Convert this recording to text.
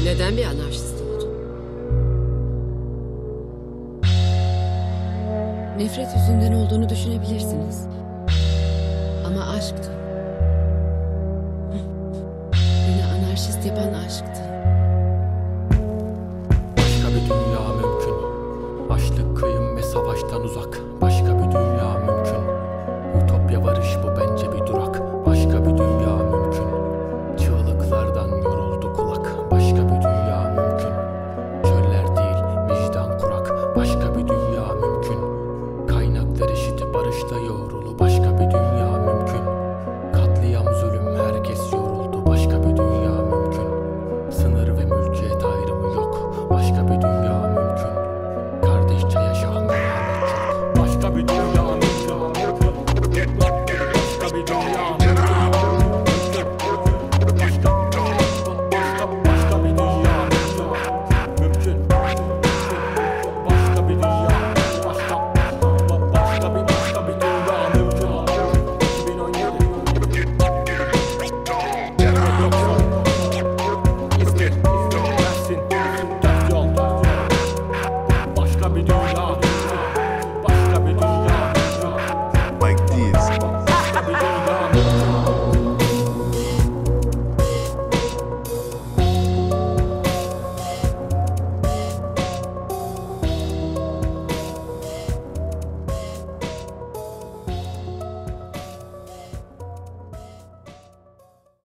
Neden bir anarşist oldun? Nefret yüzünden olduğunu düşünebilirsiniz. Ama aşktı. Beni anarşist yapan aşktı. Başka bir dünya mümkün. Açlık, kıyım ve savaştan uzak. Başka